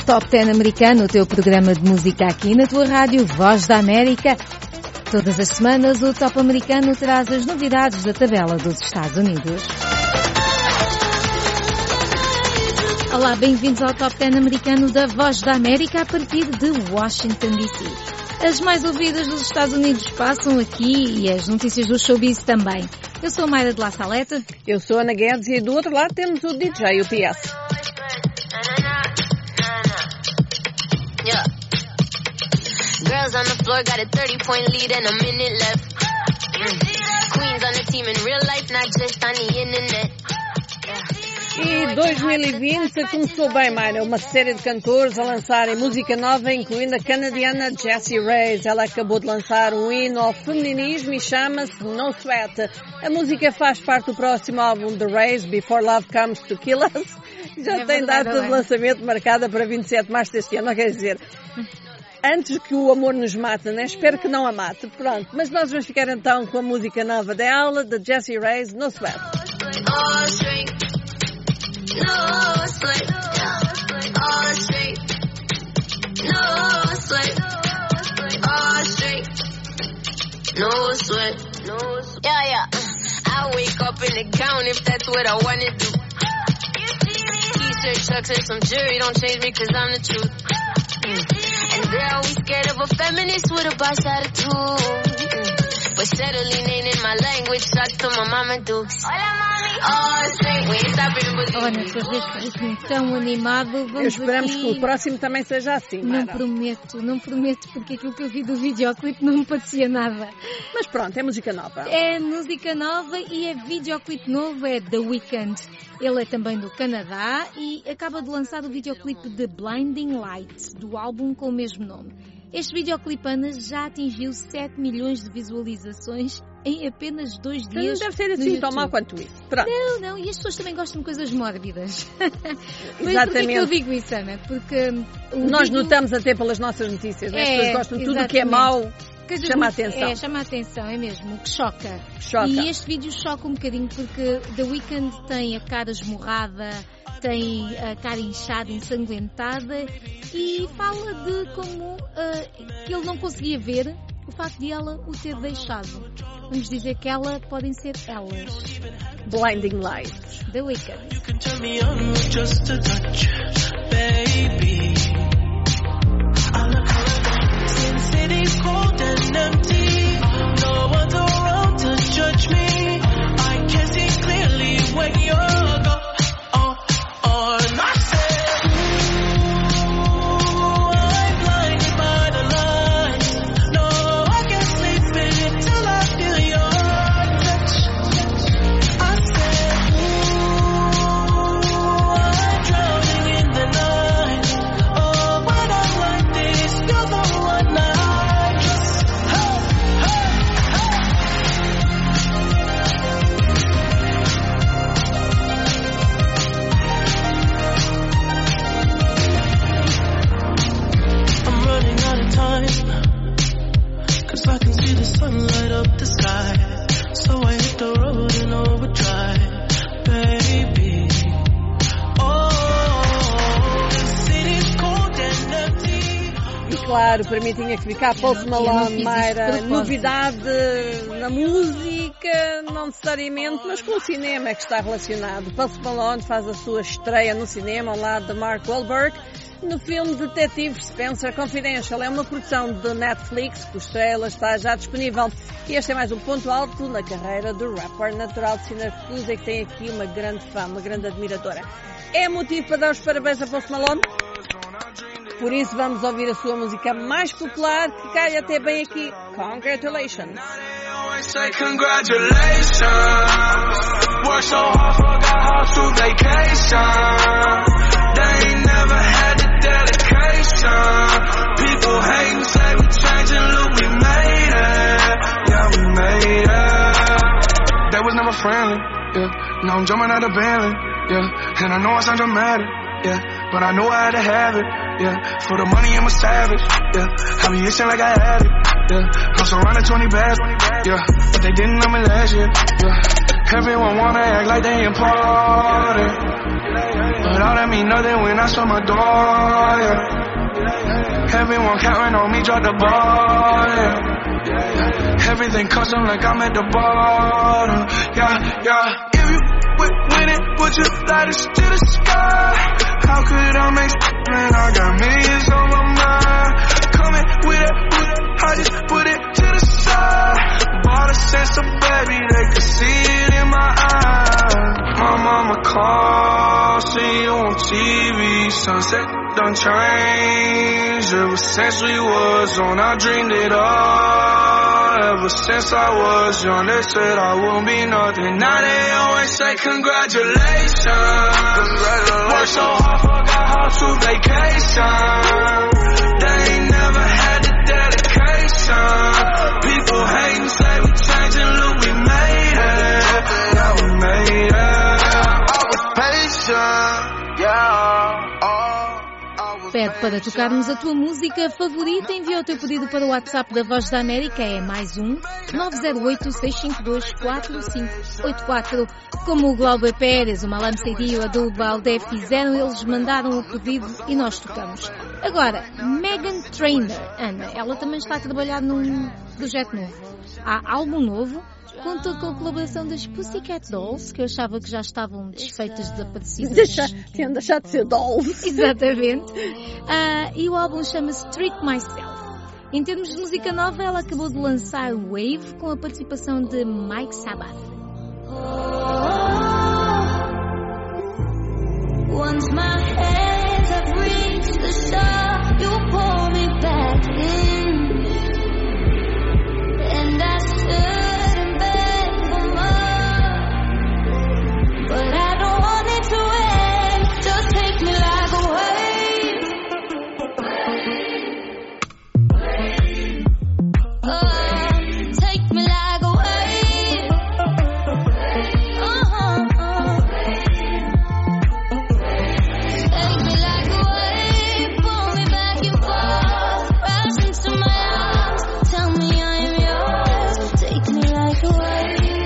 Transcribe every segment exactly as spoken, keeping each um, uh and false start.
Top dez americano, o teu programa de música aqui na tua rádio Voz da América. Todas as semanas o Top americano traz as novidades da tabela dos Estados Unidos. Olá, bem-vindos ao Top dez americano da Voz da América a partir de Washington, D C. As mais ouvidas dos Estados Unidos passam aqui e as notícias do showbiz também. Eu sou a Mayra de La Saleta. Eu sou a Ana Guedes e do outro lado temos o D J, o P S. Yeah. Girls on the floor got a thirty point lead and a minute left. Mm. Queens on the team in real life, not just on the internet. E dois mil e vinte começou bem, Mayra. Uma série de cantores a lançarem música nova, incluindo a canadiana Jessie Reyez. Ela acabou de lançar um hino ao feminismo e chama-se No Sweat. A música faz parte do próximo álbum de Reyez, Before Love Comes to Kill Us. Já é tem data de lançamento marcada para vinte e sete de março deste ano, não quer dizer... Antes que o amor nos mate, né? Espero que não a mate. Pronto, mas nós vamos ficar então com a música nova dela, de Jessie Reyez, No Sweat. All straight, no sweat, all straight, no sweat, all straight, no sweat, no sweat. Yeah, yeah. I wake up in the gown if that's what I wanna do. T-shirt, chucks, and some jewelry don't change me 'cause I'm the truth. Mm. And they're always scared of a feminist with a boss attitude. Mm. But settling ain't in my language, shots to my mama dukes. Hola, mami. Oh, straight, we ain't stopping but... Olha, tu vês assim tão animado, vamos Esperamos aqui... que o próximo também seja assim, Não Mara. prometo, não prometo, porque aquilo que eu vi do videoclipe não me parecia nada. Mas pronto, é música nova. É música nova e é videoclipe novo, é The Weeknd. Ele é também do Canadá e acaba de lançar o videoclipe de Blinding Lights, do álbum com o mesmo nome. Este videoclipe, Ana, já atingiu sete milhões de visualizações em apenas dois dias. Não deve ser assim tão mal quanto isso. Pronto. Não, não, e as pessoas também gostam de coisas mórbidas. Mas Exatamente. porquê que eu digo isso, Ana? Porque o Nós vídeo... notamos até pelas nossas notícias, né? As É, pessoas gostam de tudo o que é exatamente. mau. Coisas Chama a muito- atenção. É, chama a atenção, é mesmo, o que choca. Choca. E este vídeo choca um bocadinho porque The Weeknd tem a cara esmurrada, tem a cara inchada, ensanguentada e fala de como uh, que ele não conseguia ver o facto de ela o ter deixado. Vamos dizer que ela podem ser elas. Blinding Lights. The Weeknd. You can turn me on with just a touch, baby. I look around, since city's cold and empty, no one's around to judge me. I can see clearly when you're gone. Oh, oh, and I said, ooh, I'm blinded by the lights. No, I can't sleep until I feel your touch. I said, ooh, I'm drowning in the night. Oh, when I'm like this, you're the one I trust. Hey, hey, hey. I'm running out of time, 'cause I can see the sun light up the sky. So I hit the road in overdrive, baby. Oh, the city's cold and empty. E claro, para mim tinha que ficar Post Eu não Malone, fiz isto de Mayra. propósito. Novidade na música, não necessariamente, mas com o cinema é que está relacionado. Post Malone faz a sua estreia no cinema ao lado de Mark Wahlberg no filme Detetive Spencer Confidential. É uma produção de Netflix, cuja estrela está já disponível. E este é mais um ponto alto na carreira do rapper natural de Syracuse e que tem aqui uma grande fã, uma grande admiradora. É motivo para dar os parabéns a Post Malone? Por isso vamos ouvir a sua música mais popular, que cai até bem aqui. Congratulations! They always say congratulations. Worked so hard, forgot how to vacation. They ain't never had the dedication. People hating, say we changing, look, we made it. Yeah, we made it. They was never friendly, yeah. Now I'm jumping out of Bentley, yeah. And I know I sound dramatic, yeah. But I know I had to have it, yeah. For the money, I'm a savage, yeah. I be itching like I had it, yeah. I'm surrounded twenty bags, yeah. But they didn't know me last year, yeah. Everyone wanna act like they important, but all that mean nothing when I saw my door, yeah. Everyone counting on me, drop the ball, yeah. Everything custom like I'm at the bottom, yeah, yeah. If you with winning, would you light us to the sky? How could I make man? I got millions on my mind. Coming with it, I just put it to the side. Bought a sense of baby, they could see it in my eyes. My mama called, see you on T V. Sunset done changed. Ever since we was on, I dreamed it all. Ever since I was young, they said I wouldn't be nothing. Now they always say congratulations. Congratulations. Worked so hard, forgot how to vacation. They ain't never had the dedication. People hating, say we changing, look, we made it. Yeah, we made it. I was patient, yeah. Pede para tocarmos a tua música favorita, envia o teu pedido para o WhatsApp da Voz da América, é mais um nove zero oito, seis cinco dois, quatro cinco oito quatro. Como o Glauber Pérez, o Malam Seydi e o Abdul Baldé fizeram, eles mandaram o pedido e nós tocamos. Agora, Meghan Trainor, Ana, ela também está a trabalhar num projeto novo. Há álbum novo, conta com a colaboração das Pussycat Dolls, que eu achava que já estavam desfeitas, desaparecidas. Deixa, tinham deixado de ser dolls. Exatamente. Uh, e o álbum chama-se Treat Myself. Em termos de música nova, ela acabou de lançar Wave com a participação de Mike Sabbath. Once my hands have reached the shore, you pull me back in, and I stood and begged for more, but I don't want it to end. Just take me like a wave. Oh, take me like a wave. Uh-huh, uh. Take me like a wave, pull me back and forth, rush into my arms, tell me I am yours. Take me like a wave.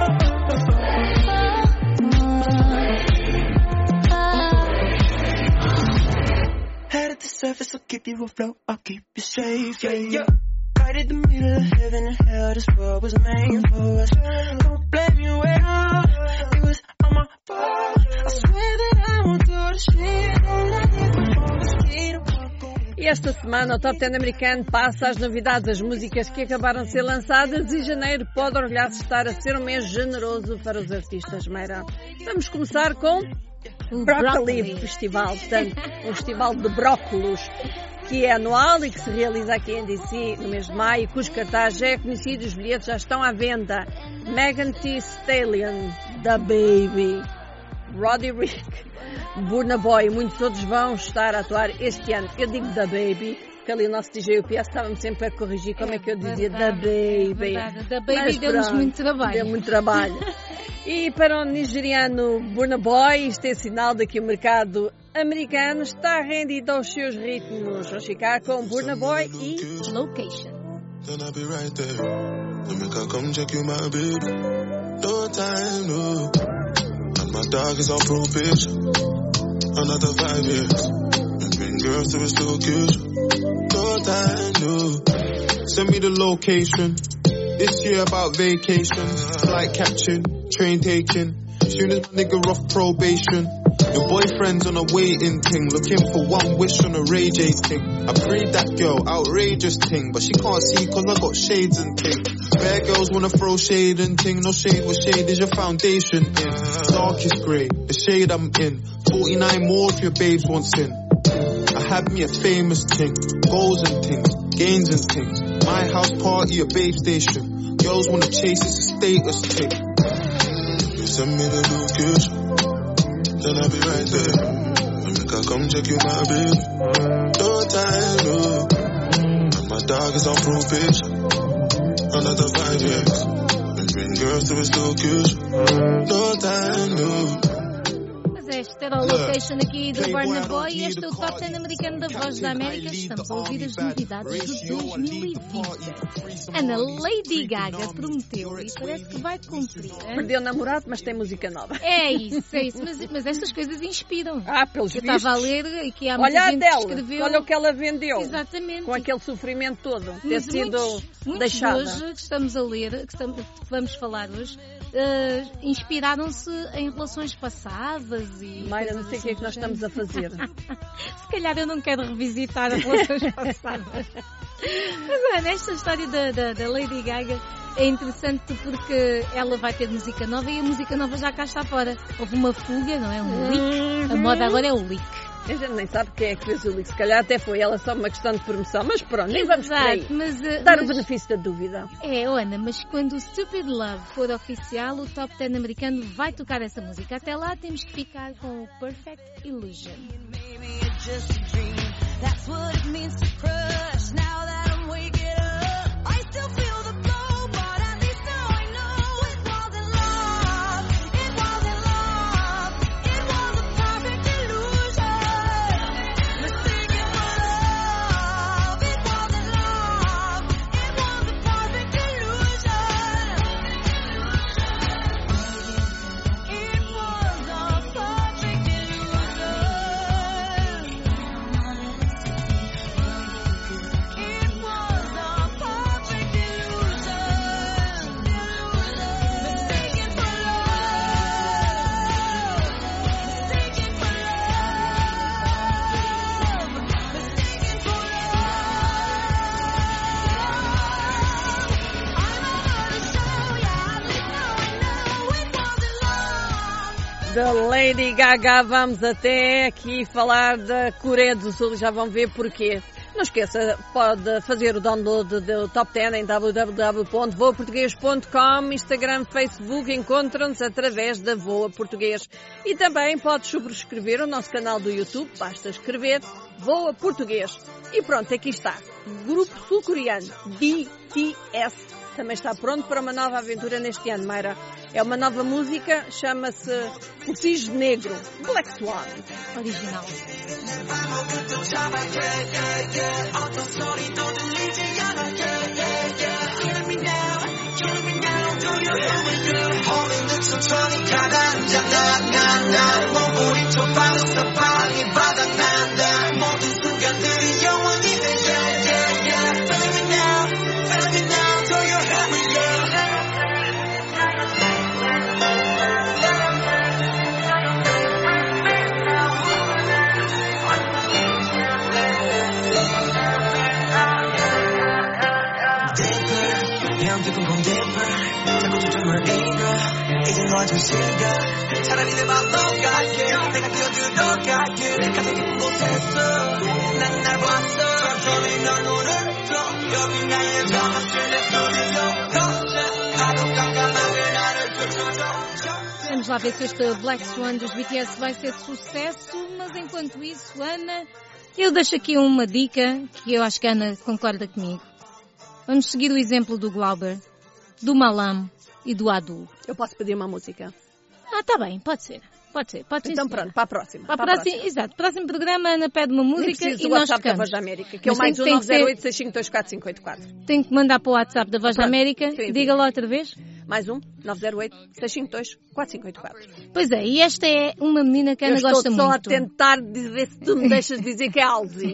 Head at the surface, I'll give you a flow, I'll keep you safe, yeah, yeah. Right in the middle of heaven and hell, this world was made for us. Don't blame you at all, it was all my fault. I swear that I won't do the shit, all I did before was speed and walk away. E esta semana o Top dez americano passa as novidades, as músicas que acabaram de ser lançadas, e janeiro pode orgulhar-se estar a ser um mês generoso para os artistas, Meira. Vamos começar com o Broccoli, Broccoli Festival, portanto, um festival de brócolos que é anual e que se realiza aqui em D C no mês de maio, cujo cartaz já é conhecido e os bilhetes já estão à venda. Megan Thee Stallion, The Baby, Roddy Ricch, Burna Boy e muitos outros vão estar a atuar este ano. Eu digo The Baby, porque ali o nosso D J U P S estava-me sempre a corrigir como é que eu dizia The Baby. Verdade. The Baby deu-nos muito trabalho. Deu muito trabalho. E para o nigeriano Burna Boy, isto é sinal de que o mercado americano está rendido aos seus ritmos. Vamos ficar com Burna Boy e Location. Then I'll be right there. Then make I come check you, my baby. No time, no. And my dog is on probation. Another five years. Between girls to a location. No time, no. Send me the location. This year about vacations. Flight catching, train taking. Soon as my nigga off probation. Your boyfriend's on a waiting thing, looking for one wish on a Ray J thing. I prayed that girl, outrageous thing, but she can't see cause I got shades and thing. Bare girls wanna throw shade and thing, no shade, what shade is your foundation in? Darkest grey, the shade I'm in. forty-nine more if your babes want sin. I had me a famous thing, goals and things, gains and things. My house party, a babe station. Girls wanna chase, it's a status thing. You send me the location. Then I'll be right there. And make I come check you, my baby. No time, no. And my dog is on probation. Another five years. Between girls to his location. No time, no. Esta era a location aqui do Burna Boy e este é o Top dez americano da Voz da América. Estamos a ouvir as novidades de dois mil e vinte. Ana, Lady Gaga prometeu e parece que vai cumprir. Hein? Perdeu o namorado, mas tem música nova. É isso, é isso. Mas, mas estas coisas inspiram. Ah, pelos Eu vistos. estava a ler e que há muita Olha a gente dela, que escreveu. olha o que ela vendeu. Exatamente. Com aquele sofrimento todo, ter Mas sido muitos, muitos deixada. hoje que estamos a ler, que, estamos, que vamos falar hoje, uh, inspiraram-se em relações passadas e... Mayra, não sei o que é que nós assim do estamos a fazer. Se calhar eu não quero revisitar as relações passadas. Mas olha, esta história da, da, da Lady Gaga é interessante porque ela vai ter música nova e a música nova já cá está fora. Houve uma fuga, não é? Um leak. Uhum. A moda agora é o leak. A gente nem sabe quem é que fez o leak. Se calhar até foi ela, só uma questão de promoção. Mas pronto, nem vamos por aí. Mas, uh, Dar mas... o benefício da dúvida. É, Ana, mas quando o Stupid Love for oficial, o Top dez americano vai tocar essa música. Até lá temos que ficar com o Perfect Illusion. Da Lady Gaga, vamos até aqui falar da Coreia do Sul, já vão ver porquê. Não esqueça, pode fazer o download do Top dez em w w w ponto voa português ponto com, Instagram, Facebook, encontram-nos através da Voa Português. E também pode subscrever o nosso canal do YouTube, basta escrever Voa Português. E pronto, aqui está. Grupo sul-coreano B T S também está pronto para uma nova aventura neste ano, Mayra. É uma nova música, chama-se O Cisne Negro, Black Swan. Original. 차라리 내 맘 녹아게 내가 뛰어들어 갈게 내 가슴 깊은 곳에서 난 날 봤어 천천히 널 노려줘 여기 나의 밤을 내 소리로 걷자 파도 깜깜하게 나를 펼쳐줘. Vamos lá ver se este Black Swan dos B T S vai ser de sucesso, mas enquanto isso, Ana, eu deixo aqui uma dica que eu acho que a Ana concorda comigo. Vamos seguir o exemplo do Glauber, do Malam e do Adu. Eu posso pedir uma música? Ah, tá bem, pode ser. Pode ser, pode ser. Então sim, pronto, para a próxima. Para a para a próxima, próxima. exato. Próximo programa, a Ana pede uma música Nem preciso e do nós WhatsApp da tocamos. Voz da América, que é o Mas mais tem- um tem nove que zero ser- oito, seis cinco dois, quatro cinco oito quatro. Tenho que mandar para o WhatsApp da Voz da Pronto, América. escrevi. Diga lá outra vez. Mais um, nove zero oito, seis cinco dois, quatro cinco oito quatro. Pois é, e esta é uma menina que a Eu Ana estou gosta só muito. a tentar de ver se tu me deixas dizer que é Alzi.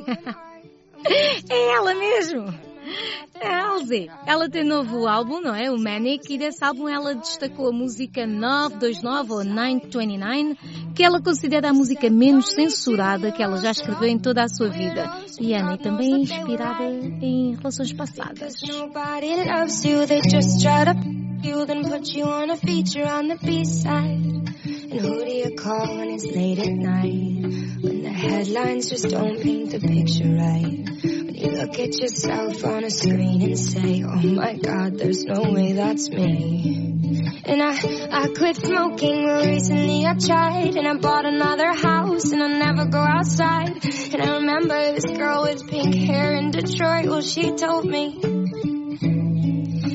É ela mesmo. É a Alze. Ela tem novo álbum, não é? O Manic, e desse álbum ela destacou a música nove dois nove ou nove dois nove, que ela considera a música menos censurada que ela já escreveu em toda a sua vida. E Ana, e também é inspirada em relações passadas. Nobody loves you, they just try to you, then put you on a feature on the B-side. And who do you call when it's late at night? When the headlines just don't paint the picture right. When you look at yourself on a screen and say, oh my God, there's no way that's me. And I, I quit smoking, well recently I tried. And I bought another house and I never go outside. And I remember this girl with pink hair in Detroit, well she told me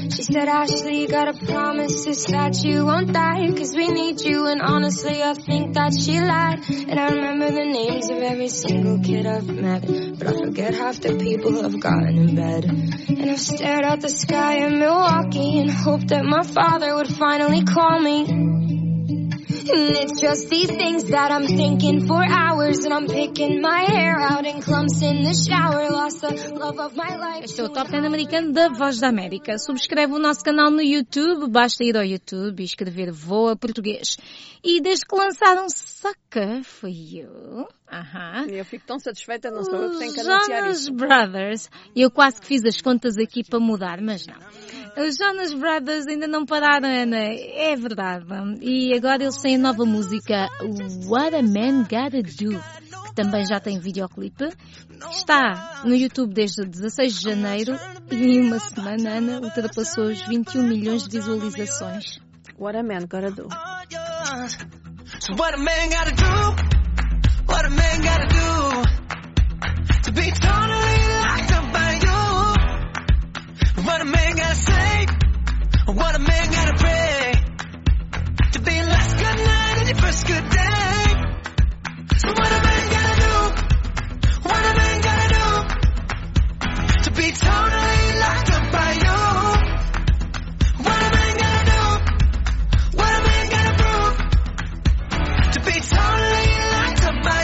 She said, Ashley, you gotta promise us that you won't die, cause we need you, and honestly I think that she lied. And I remember the names of every single kid I've met, but I forget half the people who have gotten in bed. And I've stared at the sky in Milwaukee and hoped that my father would finally call me. And it's just these things that I'm thinking for hours, and I'm picking my hair out in clumps in the shower, lost the love of my life. Este é o Top dez americano da Voz da América. Subscreve o nosso canal no YouTube, basta ir ao YouTube e escrever Voa Português. E desde que lançaram Sucker For You, aham, eu fico tão satisfeita, não sou eu que tenho que anunciar Jonas isso. Brothers, eu quase que fiz as contas aqui para mudar, mas não. Os Jonas Brothers ainda não pararam, Ana, é verdade. E agora eles têm a nova música What a Man Gotta Do, que também já tem videoclipe. Está no YouTube desde dezasseis de janeiro e em uma semana, Ana, ultrapassou os vinte e um milhões de visualizações. What a Man Gotta Do. So what a man gotta do, what a man gotta do, to be totally locked up by you. What a man gotta say, what a man gotta pray, to be last good night and your first good day. So what a man gotta do, what a man gotta do, to be totally locked up by you. What a man gotta do, what a man gotta prove, to be totally locked up by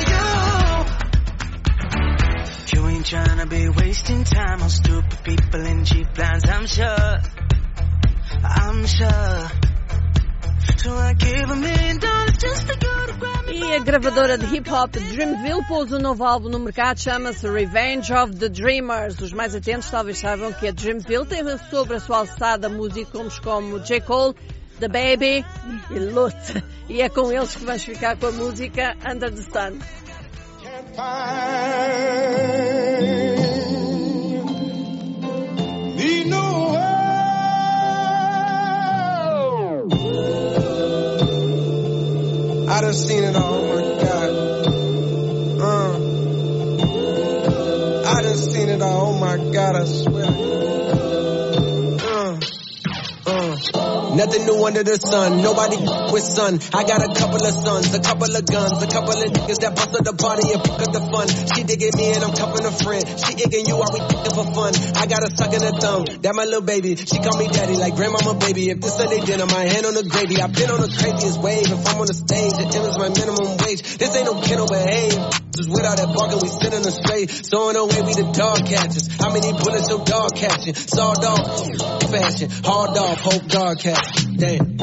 you. You ain't tryna be wasting time on stupid people in cheap lines, I'm sure, I'm sure. So I gave a million dollars just to go to grab me. E a gravadora de hip-hop Dreamville pôs um novo álbum no mercado, chama-se Revenge of the Dreamers. Os mais atentos talvez saibam que a Dreamville tem sobre a sua alçada músicos como J. Cole, The Baby e Lute. E é com eles que vamos ficar com a música Under the Sun. I done seen it all, oh my God. Uh. I done seen it all, oh my God, I swear. Uh. Uh. Nothing new under the sun, nobody with sun. I got a couple of sons, a couple of guns, a couple of niggas that bust up the party and pick up the fun. She digging me and I'm cuffing a friend. She igging you, are we thinking for fun? I got a suck in her thumb, that my little baby. She call me daddy like grandmama baby. If this Sunday dinner, my hand on the gravy. I've been on the craziest wave. If I'm on the stage, the M is my minimum wage. This ain't no kiddo behave. Just without that bargain, we sitting straight. So in a way, we the dog catchers. How many bullets your dog catching? Sawed off, fashion, hard off, hope dog catch. Damn.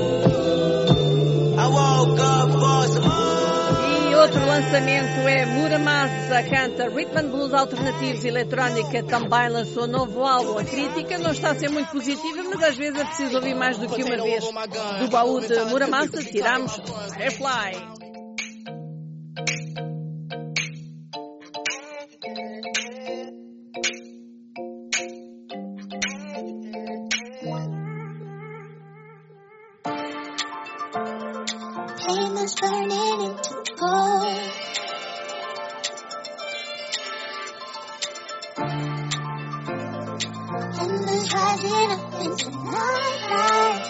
I woke up for some more. E outro lançamento é Muramasa, canta Rhythm and Blues alternativos e eletrónica, também lançou novo álbum. A crítica não está a ser muito positiva, mas às vezes é preciso ouvir mais do que uma vez. Do baú de Muramasa tiramos Firefly. Pain is burning into gold. Embers rising up into nightlight.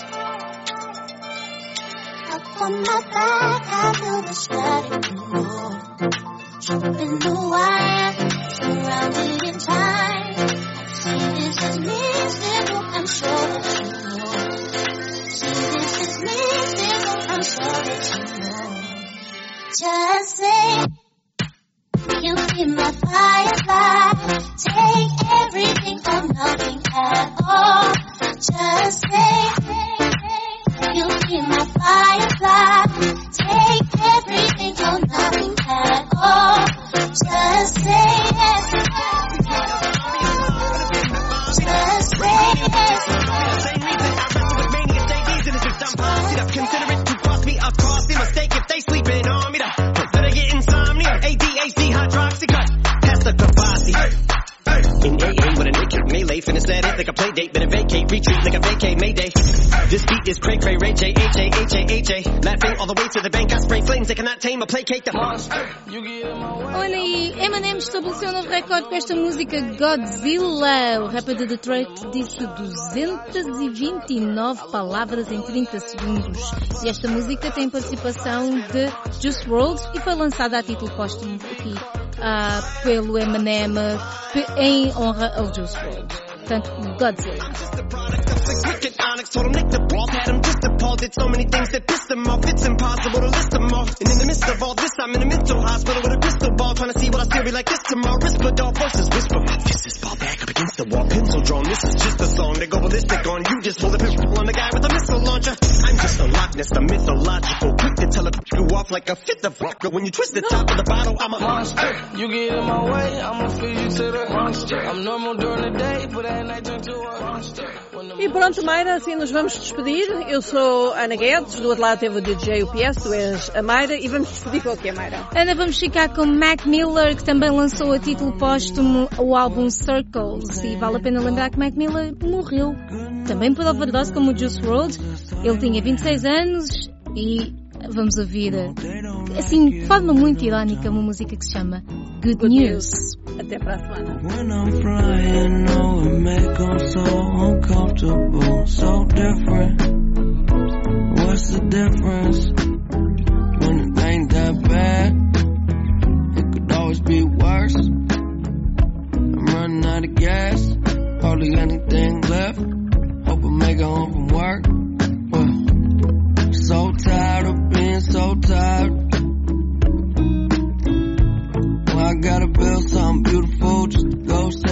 Up on my back, I feel the static roar. Jumping the wire, surrounded in time. See, this is mystical, I'm sure that you know. See, this is mystical, I'm sure that you know. Just say, you be my firefly. Take everything or nothing at all. Just say, you be my firefly. Take everything or nothing at all. Just say yes. Just say yes. Same reason I wrestle with mania, stay reason is just I'm bossy up. Consider it to cost me a costly mistake if they sleeping on me. Consider get insomnia, A D H D, hydroxy cut. Pass the Kavasi. In A A with a naked melee, finna set it like a play date. Better vacate, retreat like a vacay, mayday. This beat is cray cray, Ray J, H A, A H A H A. Laughing all the way to the bank. I spray flames, they cannot tame or placate the monster. Olha aí, Eminem estabeleceu um novo recorde com esta música Godzilla. O rapper de Detroit disse duzentas e vinte e nove palavras em trinta segundos. E esta música tem participação de Juice world e foi lançada a título póstumo aqui uh, pelo Eminem em honra ao Juice world. Portanto, Godzilla. Told him nick the ball, had him just appalled. Did so many things that pissed him off. It's impossible to list them all. And in the midst of all this, I'm in a mental hospital with a crystal ball, trying to see what I still be like this tomorrow. Whisper dog voices whisper. My fist is ball back up against the wall, pencil drawn. This is just a song. They go ballistic on you. Just hold a pistol on the guy with a missile launcher. I'm just a Loch Ness, the mythological. Quick to tell it you off like a fifth of vodka. When you twist the top of the bottle, I'm a monster. You get in my way, I'ma feed you to the monster. I'm normal during the day, but at night turn to a monster. E pronto, Mayra, assim nos vamos despedir. Eu sou Ana Guedes, do outro lado teve o D J U P S, tu és a Mayra, e vamos despedir com o que é, Mayra? Ana, vamos ficar com Mac Miller, que também lançou a título póstumo o álbum Circles, e vale a pena lembrar que Mac Miller morreu também por overdose como o Juice world. Ele tinha vinte e seis anos e vamos ouvir, assim, de forma muito irónica, uma música que se chama Good, Good News. News. Até para a semana. When I'm flying, oh, it make 'em so uncomfortable, so different. What's the difference? When it ain't that bad, it could always be worse. I'm running out of gas, hardly anything left. Hope I make it home from work. Well, so tired of being so tired. I gotta build something beautiful just to go